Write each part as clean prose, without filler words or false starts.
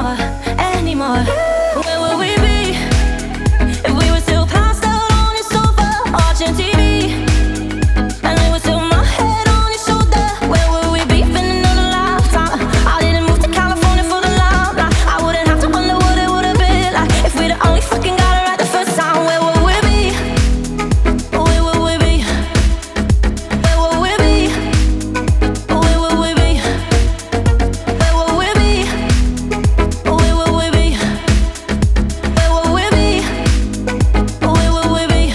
anymore, anymore. Where would we be if we were still passed out on your sofa, watching TV? And it was still my head on your shoulder. Where would we be in another lifetime? I didn't move to California for the limelight. I wouldn't have to wonder what it would have been like if we'd only fucking got it right the first time. Where would we be? Where would we be? Where would we be? Where would we be? Where would we be? Where would we be? Where would we be? Where would we be?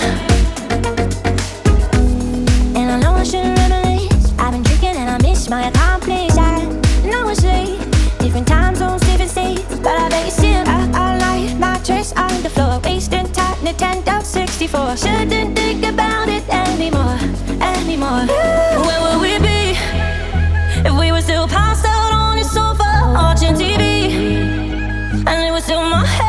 And I know I shouldn't reminisce. I've been drinking and I miss my accomplice. I know it's late, different time zones, different states, but I bet you still all night. Mattress on the floor, wasting time, Nintendo 64. Shouldn't think about it anymore, anymore. Where would we be if we were still passed out on your sofa, watching TV? And it was still my head